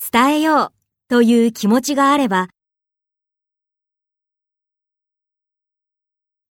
伝えようという気持ちがあれば、